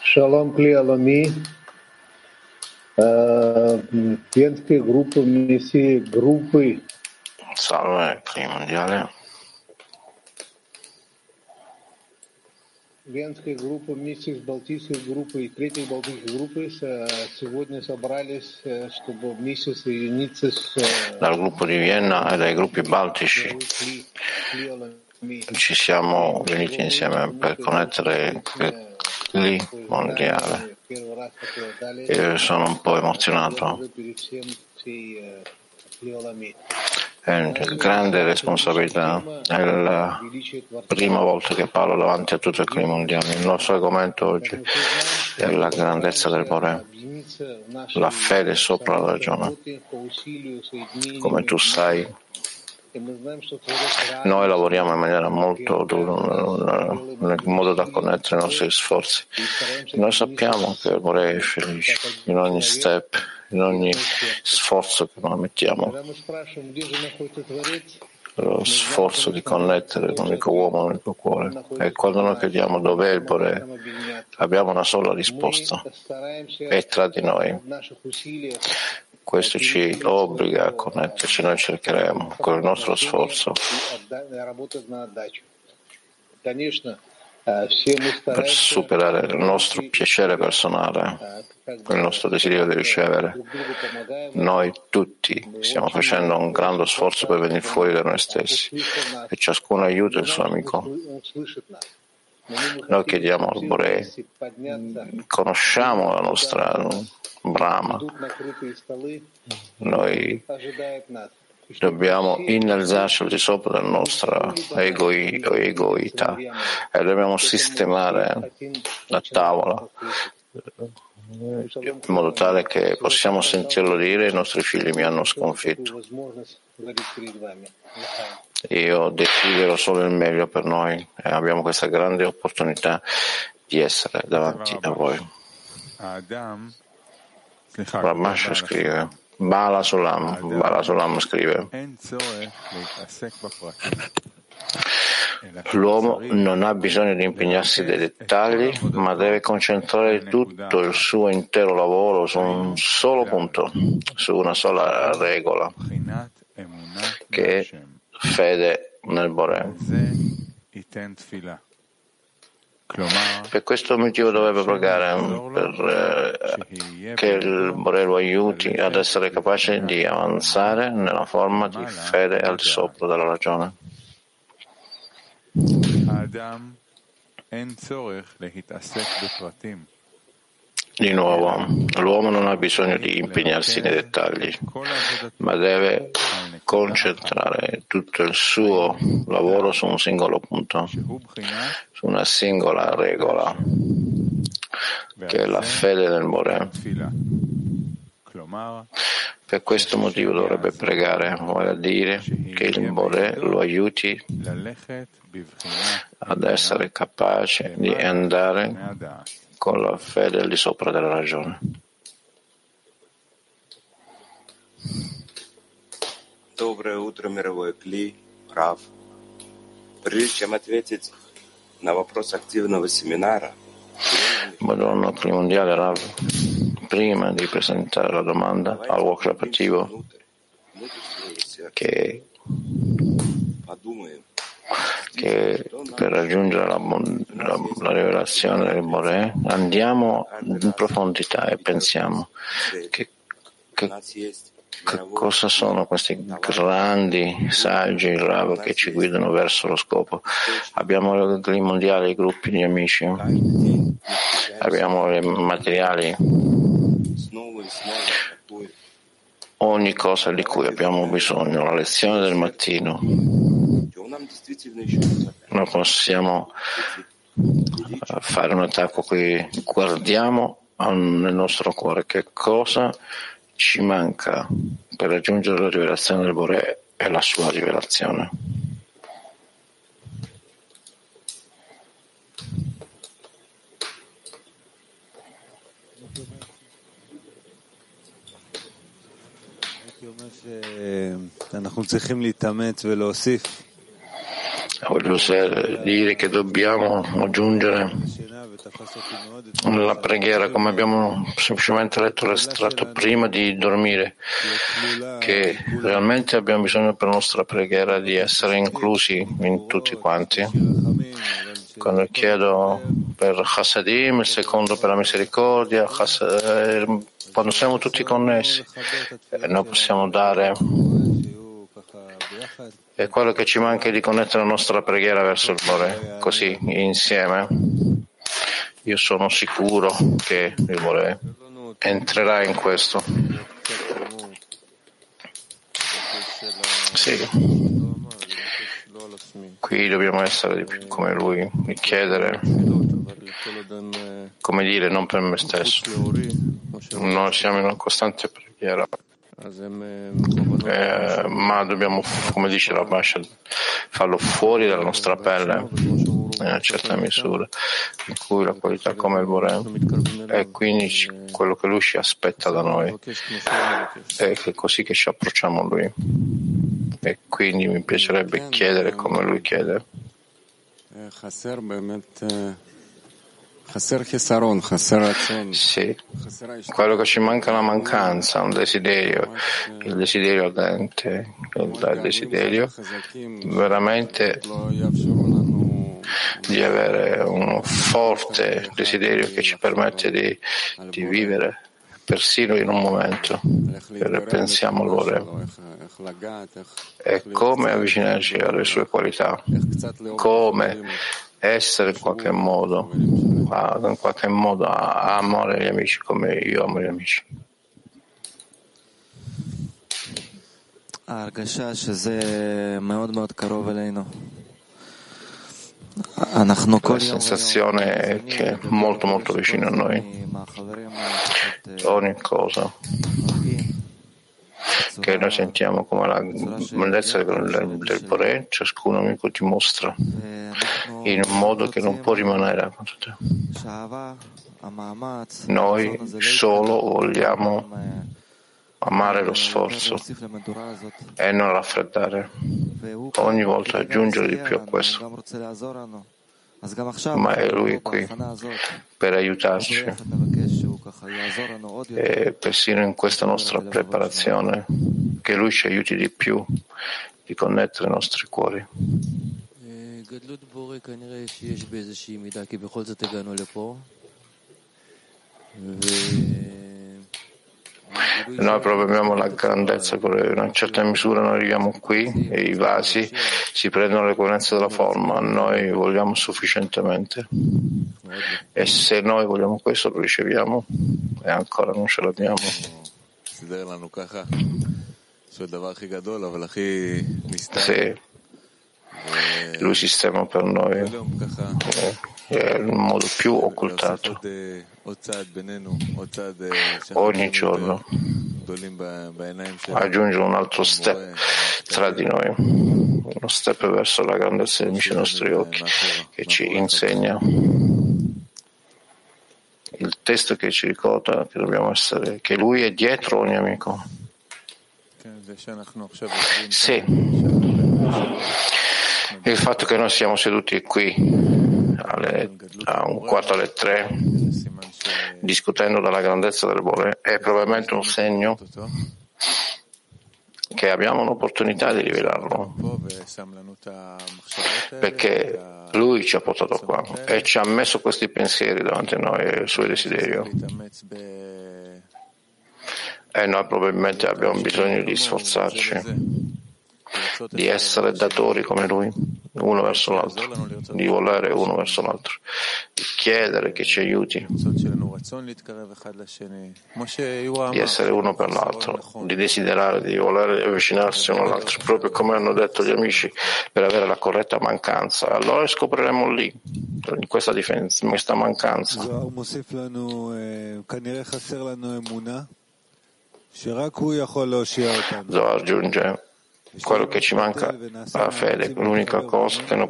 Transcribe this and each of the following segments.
Shalom Kli Alami, Венская группа миссии группы. Salve, Cli Mondiale. Венская группа миссии с Балтийской группой и Третьей Балтийской группы сегодня собрались, чтобы вместе соединиться с Dal gruppo di Vienna e dai gruppi baltici ci siamo riuniti insieme per connettere il Cli Mondiale. Io sono un po' emozionato. È una grande responsabilità, è la prima volta che parlo davanti a tutto il Cli Mondiale. Il nostro argomento oggi è la grandezza del Boré, la fede sopra la ragione. Come tu sai, noi lavoriamo in maniera molto dura nel modo da connettere i nostri sforzi. Noi sappiamo che il Boré è felice in ogni step, in ogni sforzo che noi mettiamo. Lo sforzo di connettere l'unico uomo, l'unico cuore. E quando noi chiediamo dov'è il Boré, abbiamo una sola risposta: è tra di noi. Questo ci obbliga a connetterci. Noi cercheremo con il nostro sforzo per superare il nostro piacere personale, il nostro desiderio di ricevere. Noi tutti stiamo facendo un grande sforzo per venire fuori da noi stessi e ciascuno aiuta il suo amico. Noi chiediamo al Boré, conosciamo la nostra Brahma, noi dobbiamo innalzarci al di sopra della nostra egoità e dobbiamo sistemare la tavola in modo tale che possiamo sentirlo dire: i nostri figli mi hanno sconfitto. Io desidero solo il meglio per noi e abbiamo questa grande opportunità di essere davanti a voi. Rabash scrive, Bala Sulam scrive: l'uomo non ha bisogno di impegnarsi dei dettagli, ma deve concentrare tutto il suo intero lavoro su un solo punto, su una sola regola, che è fede nel Boré. Per questo motivo dovrebbe pregare che il Boré lo aiuti ad essere capace di avanzare nella forma di fede al di sopra della ragione. Di nuovo, l'uomo non ha bisogno di impegnarsi nei dettagli, ma deve concentrare tutto il suo lavoro su un singolo punto, su una singola regola, che è la fede nel Boré. Per questo motivo dovrebbe pregare, vale a dire che il Boré lo aiuti ad essere capace di andare con la fede al di sopra della ragione. Доброе утро, мировой Кли, Рав. Прежде чем ответить на вопрос активного семинара, Buongiorno, Cli Mondiale, Rav. Prima di presentare la domanda al workshop attivo, che per raggiungere la rivelazione del Boré andiamo in profondità e pensiamo che cosa sono questi grandi saggi Rav che ci guidano verso lo scopo. Abbiamo i mondiali, i gruppi di amici, abbiamo i materiali, ogni cosa di cui abbiamo bisogno, la lezione del mattino. Noi possiamo fare un attacco qui, guardiamo nel nostro cuore che cosa ci manca per raggiungere la rivelazione del Boré e la sua rivelazione. Voglio dire che dobbiamo aggiungere La preghiera, come abbiamo semplicemente letto l'estratto prima di dormire, che realmente abbiamo bisogno per la nostra preghiera di essere inclusi in tutti quanti. Quando chiedo per Chassadim, il secondo per la misericordia, quando siamo tutti connessi, noi possiamo dare. E quello che ci manca è di connettere la nostra preghiera verso il Bore, così insieme. Io sono sicuro che il Bore entrerà in questo. Sì. Qui dobbiamo essere di più come Lui, di chiedere, come dire, non per me stesso. Noi siamo in una costante preghiera. Ma dobbiamo, come dice la Basha, farlo fuori dalla nostra pelle in una certa misura, in cui la qualità come il Boré è quindi quello che Lui ci aspetta da noi, è così che ci approcciamo a Lui, e quindi mi piacerebbe chiedere come Lui chiede. Sì, quello che ci manca è una mancanza, un desiderio, il desiderio ardente, il desiderio veramente di avere un forte desiderio che ci permette di vivere persino in un momento, pensiamo all'ora, e come avvicinarci alle sue qualità, come essere in qualche modo a amare gli amici come io amo gli amici. La sensazione è che è molto molto vicino a noi. Ogni cosa che noi sentiamo come la bellezza del Boré, ciascun amico ti mostra in un modo che non può rimanere accanto a te. Noi solo vogliamo amare lo sforzo e non raffreddare, ogni volta aggiungere di più a questo. Ma è Lui qui per aiutarci, e persino in questa nostra preparazione che Lui ci aiuti di più di connettere i nostri cuori. Noi proviamo la grandezza, in una certa misura noi arriviamo qui e i vasi si prendono le coerenze della forma, noi vogliamo sufficientemente, e se noi vogliamo questo lo riceviamo e ancora non ce l'abbiamo. Sì, Lui sistema per noi è il modo più occultato. Ogni giorno aggiunge un altro step tra di noi, uno step verso la grandezza dei nostri occhi, che ci insegna il testo che ci ricorda che dobbiamo essere, che Lui è dietro ogni amico. Sì, il fatto che noi siamo seduti qui a 2:45 discutendo della grandezza del Boré è probabilmente un segno che abbiamo un'opportunità di rivelarlo, perché Lui ci ha portato qua e ci ha messo questi pensieri davanti a noi e il suo desiderio, e noi probabilmente abbiamo bisogno di sforzarci, di essere datori come Lui, uno verso l'altro, di volere uno verso l'altro, di chiedere che ci aiuti, di essere uno per l'altro, di desiderare, di volere avvicinarsi uno all'altro, proprio come hanno detto gli amici, per avere la corretta mancanza. Allora scopriremo lì, in questa differenza, in questa mancanza. Zohar aggiunge: quello che ci manca è la fede, l'unica cosa che noi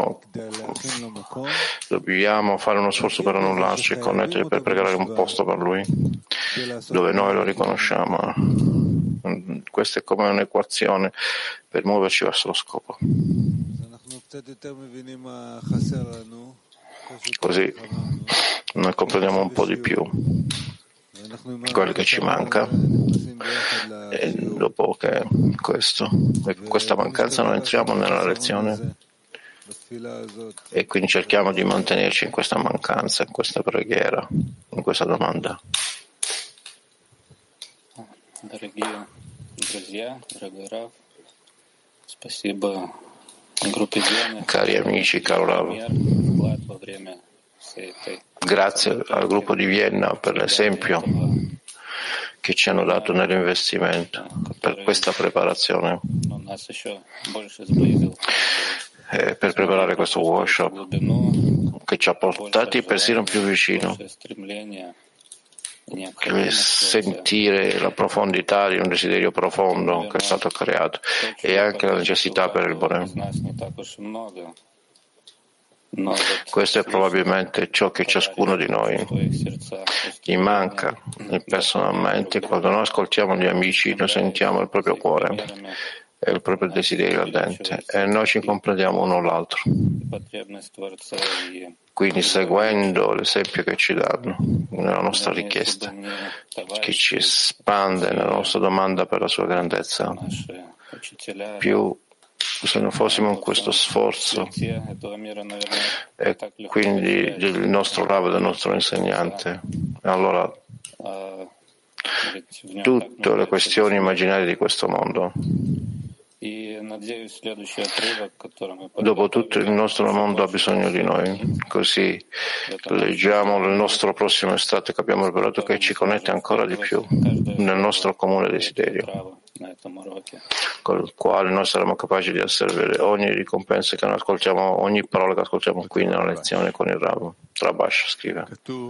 dobbiamo fare uno sforzo per annullarci e connettere, per pregare un posto per Lui, dove noi lo riconosciamo. Questa è come un'equazione per muoverci verso lo scopo. Così noi comprendiamo un po' di più quello che ci manca, e dopo che questa mancanza noi entriamo nella lezione e quindi cerchiamo di mantenerci in questa mancanza, in questa preghiera, in questa domanda. Cari amici, caro Rav, grazie al gruppo di Vienna per l'esempio che ci hanno dato nell'investimento, per questa preparazione, per preparare questo workshop che ci ha portati persino più vicino. Sentire la profondità di un desiderio profondo che è stato creato e anche la necessità per il Boré. Questo è probabilmente ciò che ciascuno di noi gli manca personalmente. Quando noi ascoltiamo gli amici, noi sentiamo il proprio cuore e il proprio desiderio ardente e noi ci comprendiamo uno l'altro. Quindi seguendo l'esempio che ci danno nella nostra richiesta, che ci espande nella nostra domanda per la sua grandezza, più se non fossimo in questo sforzo e quindi del nostro Rav, del nostro insegnante, allora tutte le questioni immaginarie di questo mondo, dopo tutto il nostro mondo ha bisogno di noi. Così leggiamo il nostro prossimo estratto che abbiamo rivelato, che ci connette ancora di più nel nostro comune desiderio, con il quale noi saremo capaci di asservire ogni ricompensa che noi ascoltiamo, ogni parola che ascoltiamo qui nella lezione con il Rav. Rabash scrive: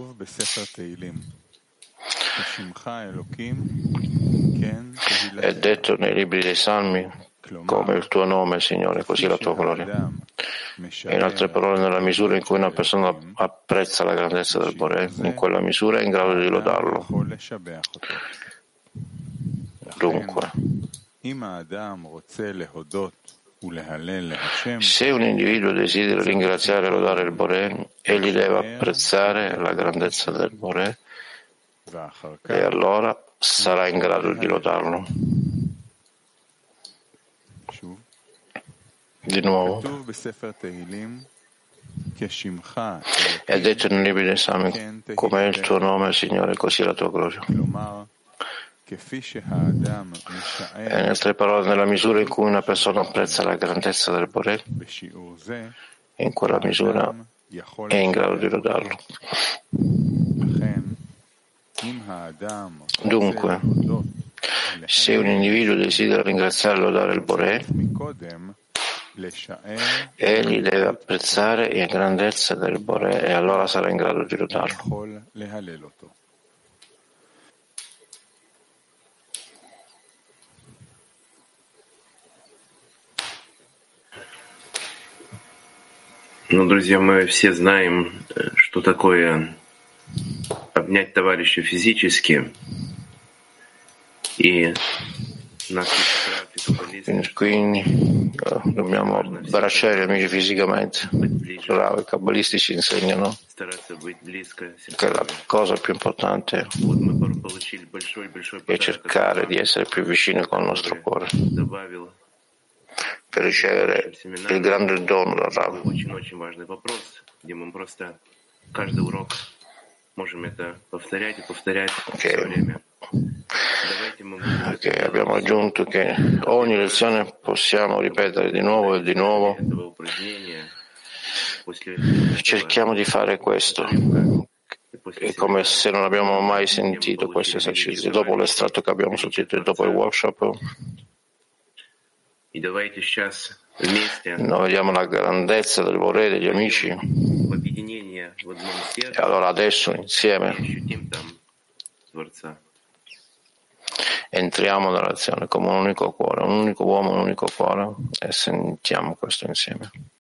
è detto nei libri dei Salmi, come il tuo nome, Signore, così la tua gloria. E in altre parole, nella misura in cui una persona apprezza la grandezza del Boré, in quella misura è in grado di lodarlo. Dunque, se un individuo desidera ringraziare e lodare il Boré, egli deve apprezzare la grandezza del Boré e allora sarà in grado di lodarlo. Di nuovo, è detto nel libro dei Salmi, come è il tuo nome, Signore, così la tua gloria. E in altre parole, nella misura in cui una persona apprezza la grandezza del Boré, in quella misura è in grado di lodarlo. Dunque, se un individuo desidera ringraziare e lodare il Boré, egli deve apprezzare la grandezza del Boré e allora sarà in grado di lodarlo. Ну, друзья, мы все знаем, что такое обнять товарища физически. И quindi dobbiamo abbracciare gli amici fisicamente. I cabalistici insegnano che la cosa più importante è cercare di essere più vicini con il nostro cuore per ricevere il grande dono da Rav. Che abbiamo aggiunto che ogni lezione possiamo ripetere di nuovo e di nuovo. Cerchiamo di fare questo. È come se non abbiamo mai sentito questo esercizio. Dopo l'estratto che abbiamo sentito e dopo il workshop, noi vediamo la grandezza del Boré degli amici. E allora adesso insieme entriamo nella lezione come un unico cuore, un unico uomo, un unico cuore, e sentiamo questo insieme.